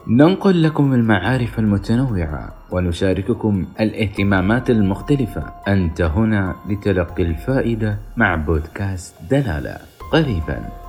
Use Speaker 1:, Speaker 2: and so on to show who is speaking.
Speaker 1: ننقل لكم المعارف المتنوعة ونشارككم الاهتمامات المختلفة. أنت هنا لتلقي الفائدة مع بودكاست دلالة. قريبا.